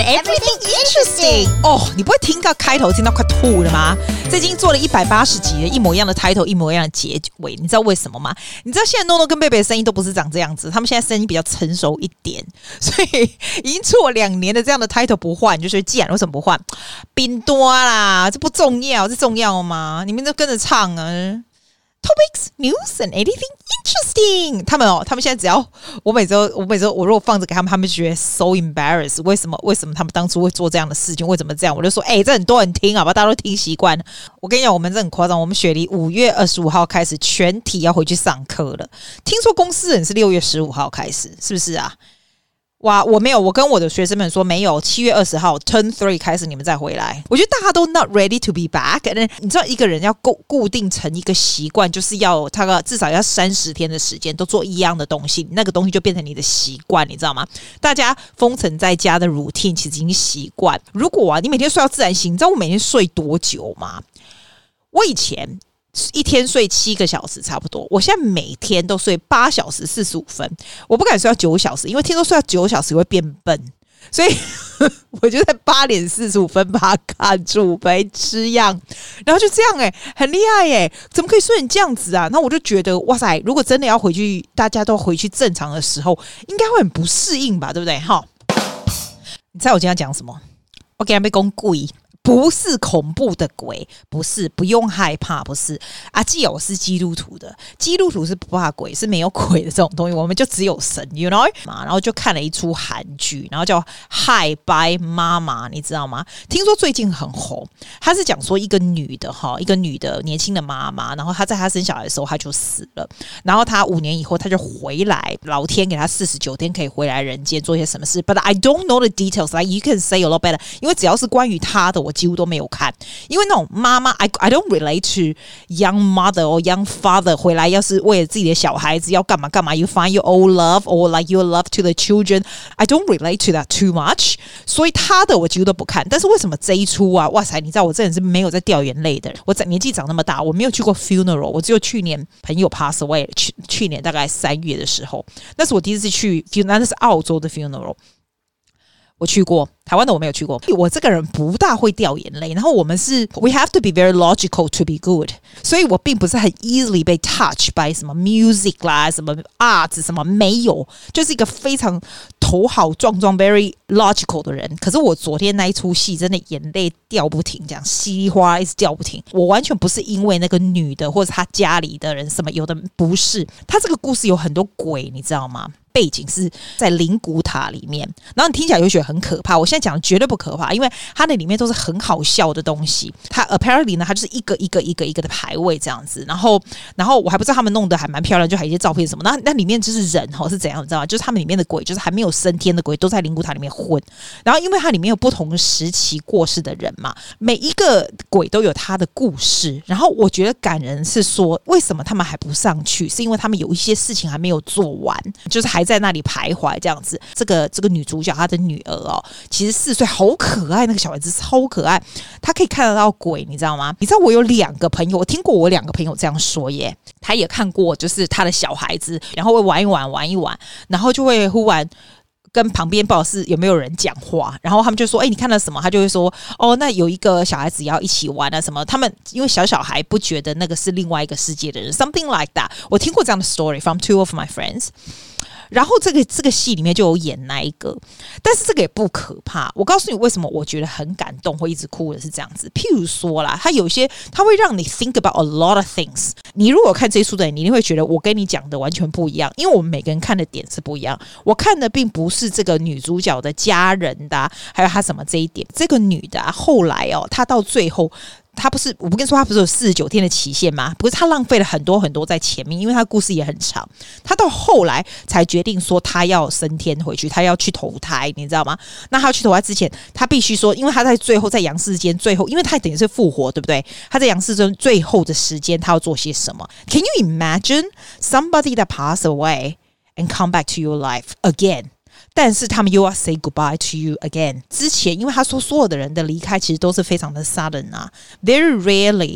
Everything Interesting。哦，你不会听到開頭聽到快吐了嗎？這已經做了180集了，一模一樣的開頭，一模一樣的結尾，你知道為什麼嗎？你知道現在諾諾跟貝貝的聲音都不是長這樣子，他們現在聲音比較成熟一點，所以已經做2年的這樣的開頭不換，就是既然為什麼不換？冰多啦，這不重要，這重要嗎？你們都跟着唱啊。Topics, news, and anything interesting。他們現在只要我每周我如果放着給他們，他們就覺得 so embarrassed。為什麼他們當初會做這樣的事情？為什麼這樣？我就說，這很多人聽，好吧，大家都聽習慣了。我跟你講，我們這很誇張。我們雪梨5月25號開始全體要回去上課了。聽說公司人是6月15號開始，是不是啊？哇，我沒有，我跟我的學生們說沒有，7月20號 Turn 3開始你們再回來。我覺得大家都 not ready to be back。你知道一個人要固定成一個習慣，就是要他至少要30天的時間都做一樣的東西，那個東西就變成你的習慣，你知道嗎？大家封城在家的 routine 其實已經習慣。如果你每天睡到自然醒，你知道我每天睡多久嗎？我以前一天睡7個小時差不多，我現在每天都睡8小時45分，我不敢睡到9小時，因為聽說睡到9小时會變笨，所以我就在8點45分把它看住，白痴樣，然後就這樣很厲害耶，怎麼可以睡成這樣子啊？那我就覺得哇塞，如果真的要回去，大家都回去正常的時候，應該會很不適應吧，對不對？哈，你猜我今天要講什麼？我給他們講鬼。不是恐怖的鬼，不是，不用害怕，不是。阿基友是基督徒的，基督徒是不怕鬼，是沒有鬼的這種東西，我們就只有神 ，you know？ 然後就看了一出韓劇，然後叫《Hi Bye 媽媽》，你知道嗎？聽說最近很紅。他是講說一個女的年輕的媽媽，然後她在她生小孩的時候她就死了，然後她5年以後她就回來，老天給她49天可以回來人間做一些什麼事 ，but I don't know the details. Like you can say a lot better， 因為只要是關於她的我幾乎都沒有看，因為那種媽媽 I don't relate to young mother or young father 回來要是為了自己的小孩子要幹嘛幹嘛 you find your old love or like your love to the children I don't relate to that too much， 所以他的我幾乎都不看。但是為什麼這一出啊，哇塞，你知道我这人是沒有在掉眼淚的人，我年紀長那麼大我沒有去過 funeral， 我只有去年朋友 pass away， 去年大概3月的時候，那是我第一次去 funeral， 那是澳洲的 funeral， 我去過，台灣的我沒有去過。我這個人不大會掉眼淚，然後我們是 we have to be very logical to be good， 所以我並不是很 easily 被 touch by 什麼 music 啦，什麼 art 什麼，沒有，就是一個非常頭好壯壯 very logical 的人。可是我昨天那一出戲真的眼淚掉不停，這樣稀里嘩啦一直掉不停。我完全不是因為那個女的或者她家裡的人什麼，有的不是。她這個故事有很多鬼，你知道嗎？背景是在靈骨塔裡面，然後你聽起來就覺得很可怕。我現在講的絕對不可怕，因為它那裡面都是很好笑的東西。它 apparently 呢，它就是一個的牌位這樣子。然後我還不知道他們弄得還蠻漂亮，就還有一些照片什麼。那裡面就是人是怎樣，你知道嗎？就是他們裡面的鬼，就是還沒有升天的鬼，都在靈骨塔裡面混。然後因為它裡面有不同的時期過世的人嘛，每一個鬼都有他的故事。然後我覺得感人是說，為什麼他們還不上去？是因為他們有一些事情還沒有做完，就是還在那裡徘徊這樣子。這個女主角她的女兒其實4歲，好可愛，那個小孩子超可愛，她可以看得到鬼，你知道嗎？你知道我有2個朋友，我聽過我2個朋友這樣說耶，他也看過，就是他的小孩子，然後會玩一玩，然後就會忽然跟旁邊不知道是有沒有人講話，然後他們就說你看到什麼？他就會說那有一個小孩子要一起玩啊什麼。他們因為小孩不覺得那個是另外一個世界的人 something like that。 我聽過這樣的 story from 2 of my friends。然後這個戲裡面就有演那一個，但是這個也不可怕。我告訴你為什麼我覺得很感動，會一直哭的是這樣子。譬如說啦，它有一些它會讓你 think about a lot of things。你如果看這一出的人，你一定會覺得我跟你講的完全不一樣，因為我們每個人看的點是不一樣。我看的並不是這個女主角的家人的還有她什麼這一點。這個女的後來她到最後。他不是，我不跟你說他不是有49天的期限嗎？不是，他浪費了很多很多在前面，因為他故事也很長。他到後來才決定說他要升天回去，他要去投胎，你知道嗎？那他要去投胎之前，他必須說，因為他在最後在陽世間最後，因為他等於是復活，對不對？他在陽世間最後的時間，他要做些什麼 ？Can you imagine somebody that passed away and come back to your life again?但是他們又要 say goodbye to you again。之前因為他說所有的人的離開其實都是非常的 sudden 啊 ，very rarely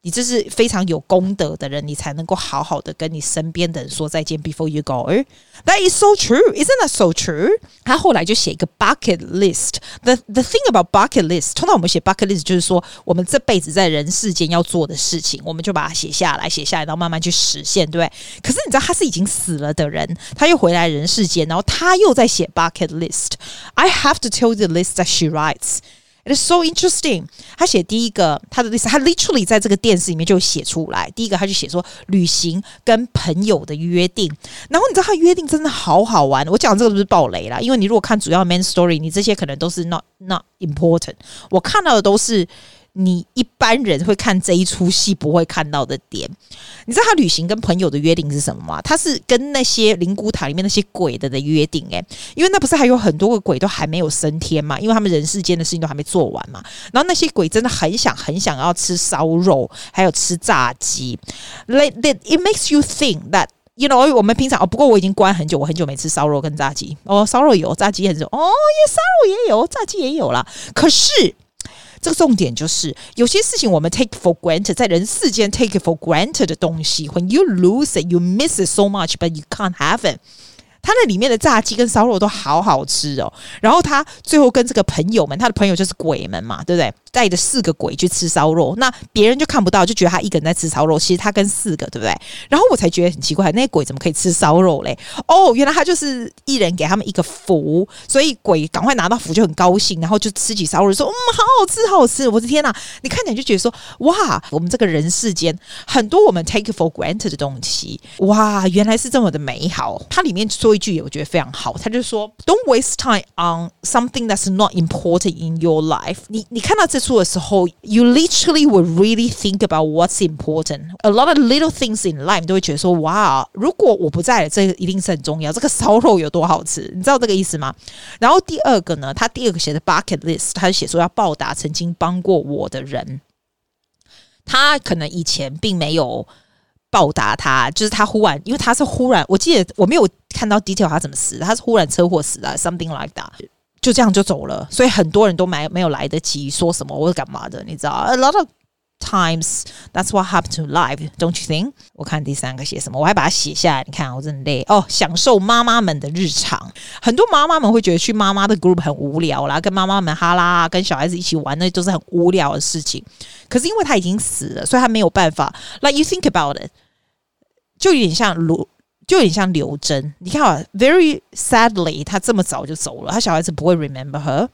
你這是非常有功德的人，你才能夠好好的跟你身邊的人說再見 before you go. That is so true. Isn't that so true? 他後來就寫一個 bucket list. The thing about bucket list, 通常我們寫 bucket list 就是說我們這輩子在人世間要做的事情，我們就把它寫下來，然後慢慢去實現，對不對？可是你知道他是已經死了的人，他又回來人世間，然後他又在寫 bucket list. I have to tell you the list that she writes.It is so interesting. 他寫第一個，他的 list， 他 literally 在這個電視裡面就寫出來。第一個，他就寫說旅行跟朋友的約定。然後你知道他約定真的好好玩。我講這個不是爆雷啦，因為你如果看主要 main story， 你這些可能都是 not important。我看到的都是你一般人会看這一出戲不會看到的點。你知道他旅行跟朋友的約定是什麼嗎？他是跟那些靈骨塔裡面那些鬼的約定因為那不是還有很多個鬼都還沒有升天嘛，因為他們人世間的事情都還沒做完嘛。然後那些鬼真的很想要吃燒肉，還有吃炸雞。It makes you think that you know 我們平常不過我已經關很久，我很久沒吃燒肉跟炸雞。燒肉有，炸雞很久。燒肉也有，炸雞也有啦。可是這個重點就是有些事情我們 take for granted， 在人世間 take for granted 的東西 when you lose it you miss it so much but you can't have it。他那裡面的炸雞跟燒肉都好好吃哦，然後他最後跟这個朋友們，他的朋友就是鬼們嘛，对不对？帶着4個鬼去吃燒肉，那別人就看不到，就覺得他一個人在吃燒肉，其實他跟4個，對不對？然後我才覺得很奇怪，那些鬼怎麼可以吃燒肉嘞？原來他就是一人給他們一個符，所以鬼趕快拿到符就很高興，然後就吃起燒肉說好好吃好好吃。我的天哪，你看起來就覺得說哇，我們這個人世間很多我們 take for granted 的東西，哇，原來是這麼的美好。它裡面說一句我覺得非常好，他就說 Don't waste time on something that's not important in your life。 你看到這出的時候 You literally will really think about what's important. A lot of little things in life 你都會覺得說哇，如果我不在了，這個一定是很重要，這個燒肉有多好吃，你知道這個意思嗎？然後第二個呢，他第二個寫的 bucket list， 他就寫說要報答曾經幫過我的人。他可能以前並沒有報答他，就是他忽然，因為他是忽然，我記得我沒有看到 detail 他怎麼死的，他是忽然車禍死的 something like that， 就這樣就走了，所以很多人都沒有來得及說什麼或者幹嘛的，你知道 A lot of times that's what happened to life, don't you think？ 我看第3個寫什麼，我還把它寫下來，你看我真的累享受媽媽們的日常。很多媽媽們會覺得去媽媽的 group 很無聊啦，跟媽媽們哈拉跟小孩子一起玩，那都是很無聊的事情。可是因為他已經死了，所以他沒有辦法 like you think about it，就有點像劉真，你看very sadly 他這麼早就走了，他小孩子不會 remember her。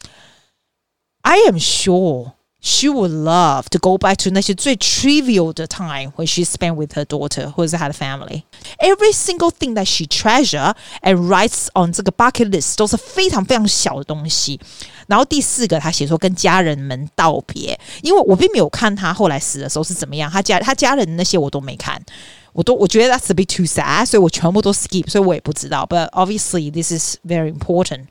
I am sure she would love to go back to 那些最 trivial 的 time when she spent with her daughter 或者是她的 family. Every single thing that she treasure and writes on 這個 bucket list 都是非常非常小的東西。然後第4個他寫說跟家人們道別，因為我並沒有看他後來死的時候是怎麼樣，他家人那些我都沒看，我覺得 that's a bit too sad， 所以我全部都 skip， 所以我也不知道。But obviously this is very important。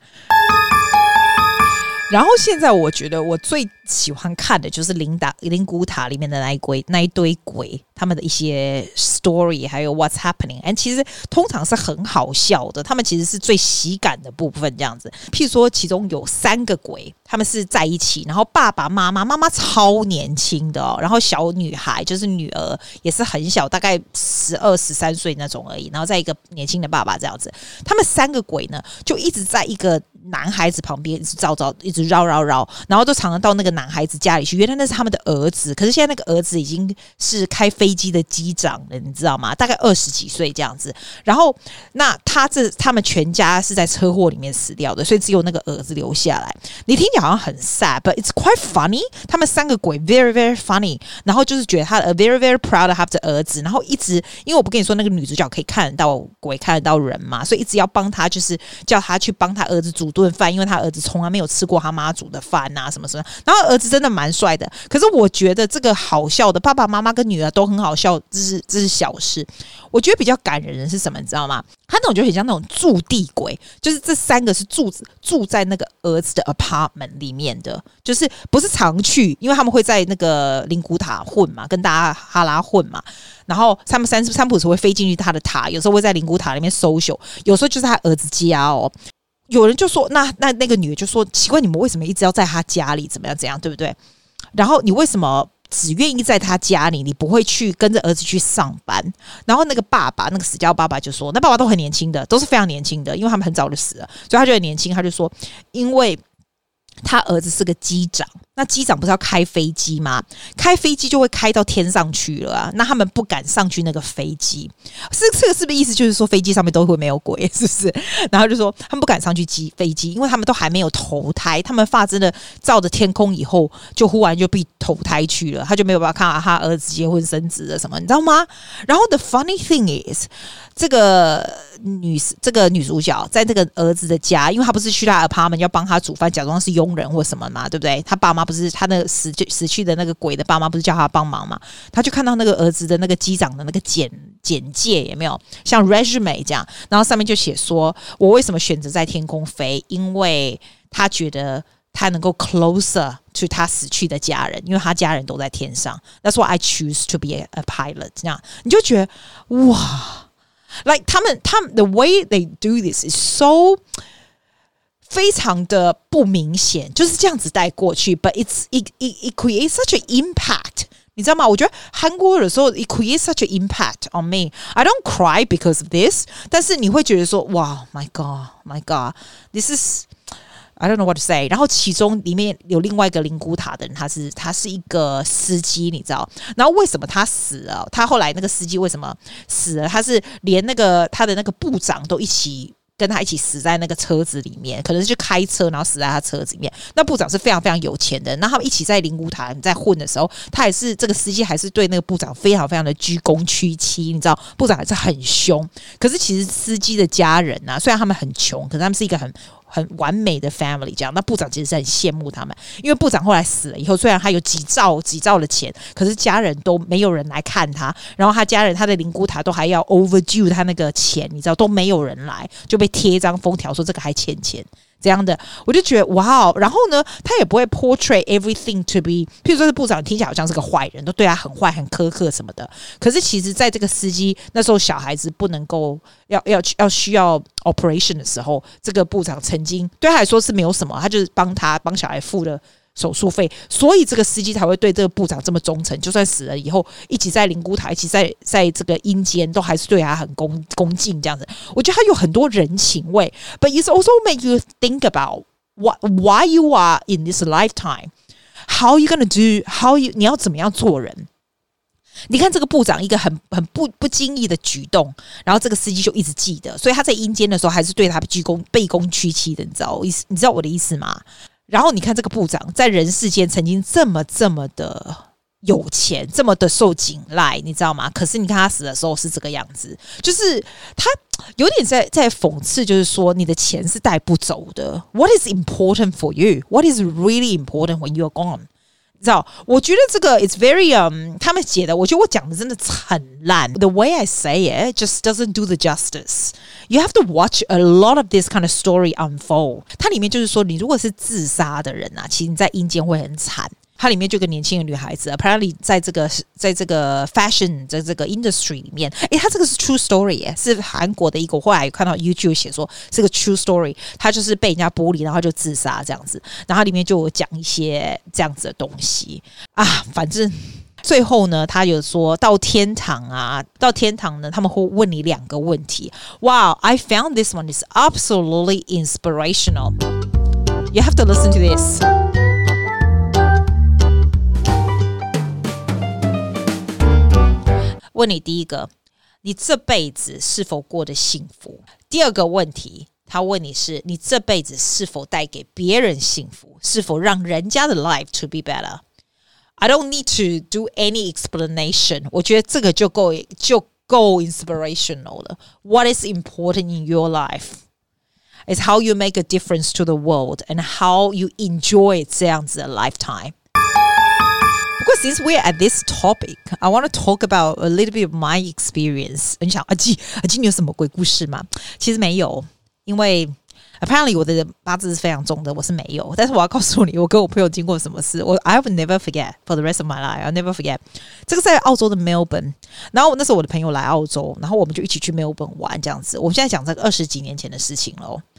然後现在我覺得我最喜歡看的就是靈骨塔裡面的那一堆鬼，他們的一些 story 還有 what's happening， 其實通常是很好笑的，他們其實是最喜感的部分這樣子。譬如說其中有3個鬼，他们是在一起，然後爸爸媽媽超年輕的然後小女孩就是女兒也是很小，大概12、13歲那種而已，然後在一個年輕的爸爸這樣子。他們3個鬼呢就一直在一個男孩子旁邊一直一直繞，然後都常常到那個男孩子家裡去，原來那是他們的兒子，可是現在那個兒子已經是開飛機的機長了，你知道嗎？大概20幾歲這樣子。然後那他們全家是在車禍裡面死掉的，所以只有那個兒子留下來。你聽起來好像很 sad but it's quite funny。他們3個鬼 very very funny， 然後就是覺得他 very very proud of 他的兒子，然後一直因為我不跟你說那個女主角可以看得到鬼看得到人嘛，所以一直要幫他，就是叫他去幫他兒子煮頓飯，因為他兒子從來沒有吃過他媽煮的飯啊什麼什麼。然後兒子真的蠻帥的，可是我覺得這個好笑的，爸爸媽媽跟女兒都很好笑，這是小事。我覺得比較感人的是什麼，你知道嗎？他那種就很像那種駐地鬼，就是這3個是住在那個兒子的 apartment 裡面的，就是不是常去，因為他們會在那個靈骨塔混嘛，跟大家哈拉混嘛。然後他們三不五時會飛進去他的塔，有時候會在靈骨塔裡面 social， 有時候就是他兒子家哦。有人就說那個女的就說奇怪，你們為什麼一直要在他家裡怎麼樣，對不對？然後你為什麼只願意在他家裡，你不會去跟着兒子去上班。然後那個爸爸，那個死掉爸爸就說，那爸爸都很年輕的，都是非常年輕的，因為他們很早就死了，所以他就很年輕。他就說，因為他兒子是個機長，那機長不是要開飛機嗎？開飛機就會開到天上去了啊，那他們不敢上去那個飛機，這個是不是意思就是說飛機上面都會沒有鬼，是不是？然後就說他們不敢上去飛機，因為他們都還沒有投胎，他們發真的照着天空以後，就忽然就被投胎去了，他就沒有辦法看到他兒子結婚生子了什麼，你知道嗎？然後 the funny thing is，這個女主角在這個兒子的家，因為他不是去他 apartment 要幫他煮飯，假裝是傭人或什麼嘛，對不对？他爸媽不是他那個死去的那個鬼的爸媽不是叫他幫忙嘛？他就看到那個兒子的那個機長的那個簡介有沒有像 resume 這樣，然後上面就寫說，我為什麼選擇在天空飛？因為他覺得他能夠 closer to 他死去的家人，因為他家人都在天上。That's why I choose to be a pilot。這樣你就覺得哇。Like 他們 the way they do this is so 非常的不明顯，就是這樣子帶過去 ，but it creates such an impact， 你知道嗎？我覺得韓國有時候 it creates such an impact on me. I don't cry because of this， 但是你會覺得說，哇 ，my God，this is。I don't know what to say。然後其中裡面有另外一個靈骨塔的人，他是一個司機，你知道？然後為什麼他死了？他後來那個司機為什麼死了？他是連那個他的那個部長都一起跟他一起死在那個車子裡面，可能是去開車，然後死在他車子裡面。那部長是非常非常有錢的，那他們一起在靈骨塔在混的時候，他也是這個司機還是對那個部長非常非常的居功屈膝，你知道？部長還是很兇。可是其實司機的家人啊，雖然他們很窮，可是他們是一個很完美的 family 這樣，那部長其實是很羨慕他們，因為部長後來死了以後，雖然他有幾兆的錢，可是家人都沒有人來看他，然後他家人他的靈骨塔都還要 overdue 他那個錢，你知道都沒有人來，就被貼一張封條說這個還欠錢這樣的，我就覺得哇，然後呢，他也不會 portray everything to be， 譬如說是部長聽起來好像是個壞人，都對他很壞很苛刻什麼的，可是其實在這個司機那時候小孩子不能夠要需要 operation 的時候，這個部長曾經對他來說是沒有什麼，他就是幫小孩付了手術費，所以这個司機才會對這個部長這麼忠誠，就算死了以後，一起在靈骨塔，一起在這個陰間，都還是對他很恭敬這樣子。我覺得他有很多人情味 ，but it also make you think about why you are in this lifetime, how you gonna do, 你要怎麼樣做人。你看這個部長一個很不經意的舉動，然後這個司機就一直記得，所以他在陰間的時候還是對他卑躬屈膝的，你知道我的意思嗎？然後你看這個部長在人世間曾經這麼的有錢，這麼的受景賴，你知道嗎？可是你看他死的時候是這個樣子，就是他有點在諷刺，就是說你的錢是帶不走的。What is important for you? What is really important when you're gone?你知道，我覺得這個 it's very 他們寫的，我覺得我講的真的很爛。The way I say it just doesn't do the justice. You have to watch a lot of this kind of story unfold. 它裡面就是說，你如果是自殺的人啊，其實你在陰間會很慘。它裡面就有個年輕的女孩子 ，apparently 在這個 fashion 在這個 industry 裡面，它這個是 true story， 是韓國的一個，我後來有看到 YouTube 寫說是個 true story， 她就是被人家玻璃，然後就自殺這樣子，然後它裡面就有講一些這樣子的東西啊，反正最後呢，他有說到天堂呢，他們會問你2個問題。Wow, I found this one is absolutely inspirational. You have to listen to this.問你第一個，你這輩子是否過得幸福？第二個問題，他問你是你這輩子是否帶給別人幸福？是否讓人家的 life to be better? I don't need to do any explanation. 我覺得這個就夠 inspirational 了。What is important in your life is how you make a difference to the world and how you enjoy 這樣子的 lifetime.Because since we're at this topic, I want to talk about a little bit of my experience. 你想阿基你有什麼鬼故事嗎？其實沒有，因為 apparently 我的八字是非常重的，我是没有。但是我要告訴你，我跟我朋友經過什麼事，I will never forget for the rest of my life. I'll never forget. 這個在澳洲的 Melbourne， 然後那時候我的朋友來澳洲，然後我們就一起去 Melbourne 玩這樣子。我們現在講這個20幾年前的事情了。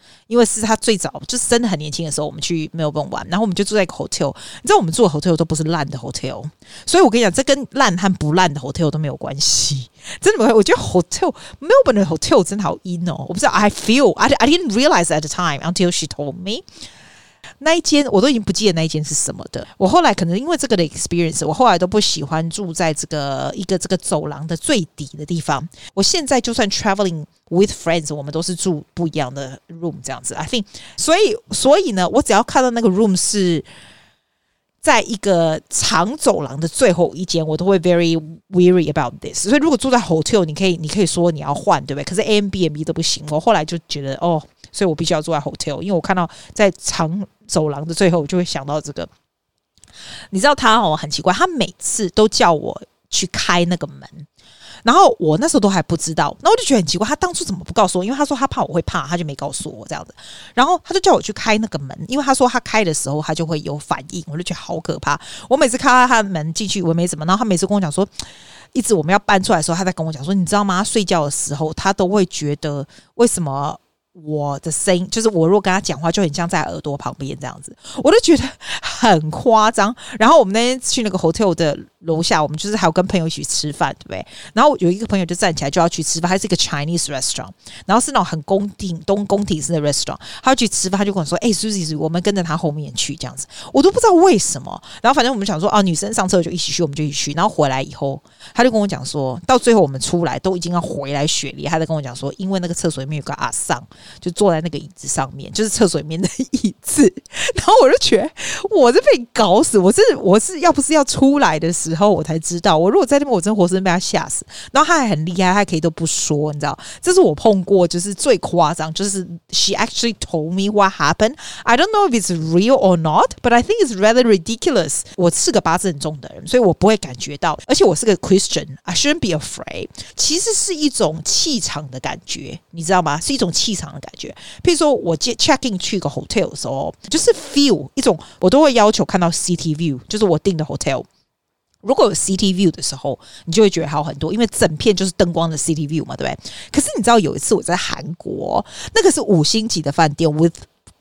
因為是他最早就是真的很年輕的時候，我們去 Melbourne 玩，然後我們就住在一個 hotel。你知道我們住的 hotel 都不是爛的 hotel， 所以我跟你講，這跟爛和不爛的 hotel 都沒有關係。真的，我覺得 hotel Melbourne 的 hotel 真的好陰哦，我不知道 I didn't realize at the time until she told me。那一間我都已經不記得那一間是什麼的。我後來可能因為這個的 experience， 我後來都不喜歡住在這個走廊的最底的地方。我現在就算 traveling with friends， 我們都是住不一樣的 room 這樣子。I think， 所以呢，我只要看到那個 room 是在一個長走廊的最後一間，我都會 very weary about this。所以如果住在 hotel， 你可以說你要換，對不对？可是 Airbnb 都不行。我後來就覺得所以我必須要住在 hotel， 因為我看到在長走廊的最後，我就會想到這個。你知道他很奇怪，他每次都叫我去開那個門，然後我那時候都還不知道，那我就覺得很奇怪，他當初怎麼不告訴我？因為他說他怕我會怕，他就沒告訴我這樣子。然後他就叫我去開那個門，因為他說他開的時候他就會有反應，我就覺得好可怕。我每次開到他的門進去，我沒怎麼，然後他每次跟我講說，一直我們要搬出來的時候，他在跟我講說，你知道嗎？他睡覺的時候，他都會覺得為什麼我的聲音，就是我如果跟他講話，就很像在耳朵旁邊這樣子，我都覺得很誇張。然後我們那天去那個 hotel 的樓下，我們就是還有跟朋友一起吃飯，對不對？然後有一個朋友就站起來就要去吃飯，還是一個 Chinese restaurant， 然後是那種很宮廷式的 restaurant， 他要去吃飯，他就跟我說：“Susie， 我們跟着他後面去這樣子。”我都不知道為什麼。然后反正我們想說，女生上車就一起去，我们就一起去。然後回來以後，他就跟我講說，到最後我們出來都已經要回來雪梨，他在跟我講說，因為那個廁所裡面有個阿桑，就坐在那個椅子上面，就是廁所裡面的椅子。然後我就覺得我是被搞死，我是要不是要出來的時候我才知道，我如果在那邊我真活生生被他嚇死。然後他還很厲害，他可以都不說，你知道，這是我碰過就是最誇張，就是 she actually told me what happened. I don't know if it's real or not, but I think it's rather ridiculous. 我是個八字很重的人，所以我不會感覺到，而且我是個 Christian, I shouldn't be afraid. 其實是一種氣場的感覺，你知道嗎？是一種氣場的感覺。譬如說我 check in 去一個 hotel 的時候，就是 feel 一種，我都會要求看到 city view， 就是我訂的 hotel。如果有 city view 的時候，你就會覺得好很多，因為整片就是燈光的 city view 嘛，對不對？可是你知道有一次我在韓國，那個是5星級的飯店 with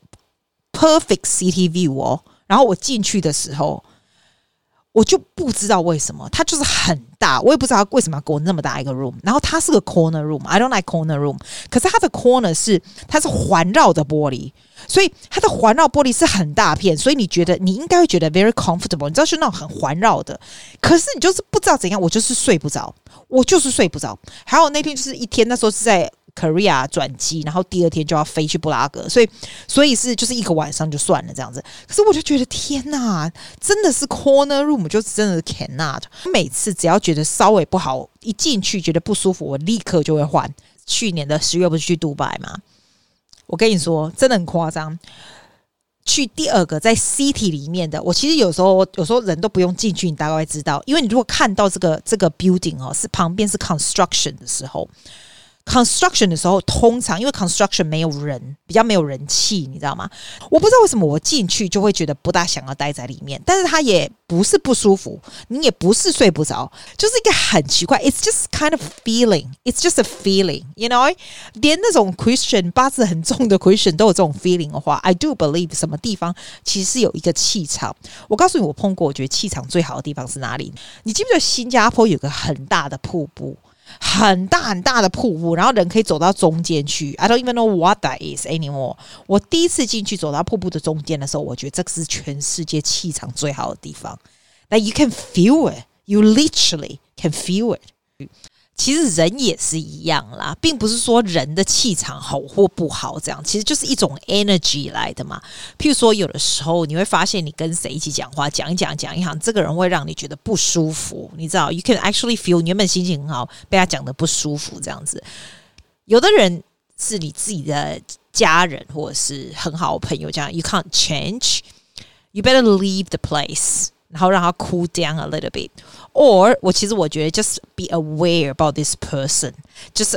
perfect city view 然後我進去的時候，我就不知道為什麼，它就是很大，我也不知道為什麼要給我那麼大一個 room。然後它是個 corner room，I don't like corner room。可是它的 corner 它是環繞的玻璃，所以它的環繞玻璃是很大片，所以你應該會覺得 very comfortable。你知道是那種很環繞的，可是你就是不知道怎樣，我就是睡不着。還有那天就是一天，那時候是在Korea 轉機，然後第二天就要飛去布拉格，所以是就是一個晚上就算了這樣子。可是我就覺得天哪，真的是 corner room 就真的是 cannot。每次只要覺得稍微不好，一進去覺得不舒服，我立刻就會換。去年的10月不是去杜拜嗎？我跟你說，真的很誇張。去第二個在 city 裡面的，我其實有時候人都不用進去，你大概會知道，因為你如果看到這個 building 是旁邊是 construction 的時候。construction 的時候，通常因為 construction 沒有人，比較沒有人氣，你知道嗎？我不知道為什麼我進去就會覺得不大想要待在裡面，但是它也不是不舒服，你也不是睡不着，就是一個很奇怪 ，it's just kind of feeling, it's just a feeling, you know？ 連那種 Christian 八字很重的 Christian 都有這種 feeling 的話 ，I do believe 什麼地方其實是有一個氣場。我告訴你，我碰過，我覺得氣場最好的地方是哪裡？你記不記得新加坡有個很大的瀑布？很大很大的瀑布，然後人可以走到中間去。I don't even know what that is anymore。我第一次進去走到瀑布的中間的時候，我覺得這是全世界氣場最好的地方。Like you can feel it, you literally can feel it。其實人也是一樣啦，並不是說人的氣場好或不好，這樣其實就是一種 energy 來的嘛。譬如說，有的時候你會發現，你跟誰一起講話，講一講，這個人會讓你覺得不舒服，你知道 ？You can actually feel 你原本心情很好，被他講得不舒服，這樣子。有的人是你自己的家人，或者是很好的朋友，這樣 You can't change, you better leave the place。然後讓他 cool down a little bit， or 我覺得 just be aware about this person， just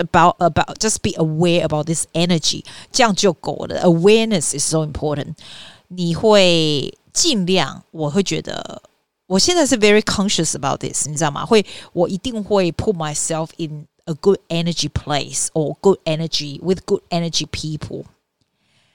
be aware about this energy， 這樣就夠了。Awareness is so important。你會盡量，我會覺得，我現在是 very conscious about this， 你知道嗎？我一定會 put myself in a good energy place or good energy with good energy people。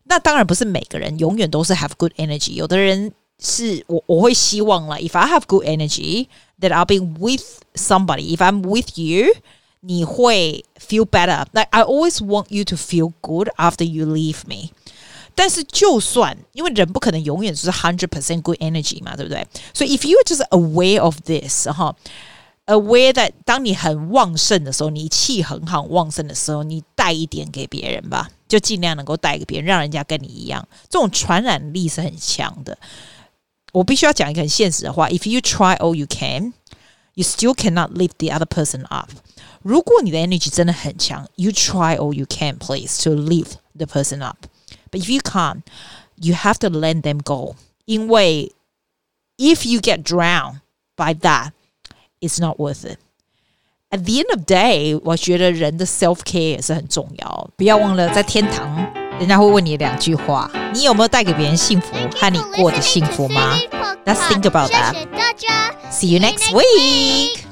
那當然不是每個人永遠都是 have good energy， 有的人是我會希望啦 if I have good energy that I'll be with somebody, if I'm with you你會 feel better. Like I always want you to feel good after you leave me. 但是就算因為人不可能永遠是 100% good energy 嘛，對不對？所以 if you are just aware of this, aware that 當你很旺盛的時候，你氣很好旺盛的時候，你帶一點給別人吧，就盡量能夠帶給別人，讓人家跟你一樣，這種傳染力是很強的。我必須要講一個很現實的話 If you try all you can, you still cannot lift the other person up. 如果你的 energy 真的很強 You try all you can, please, to lift the person up. But if you can't, you have to let them go. 因為 if you get drowned by that, it's not worth it. At the end of the day, 我覺得人的 self-care 也是很重要。不要忘了在天堂人家會問你2句話，你有沒有帶給別人幸福和你過得幸福嗎？ Let's think about that. See you next week.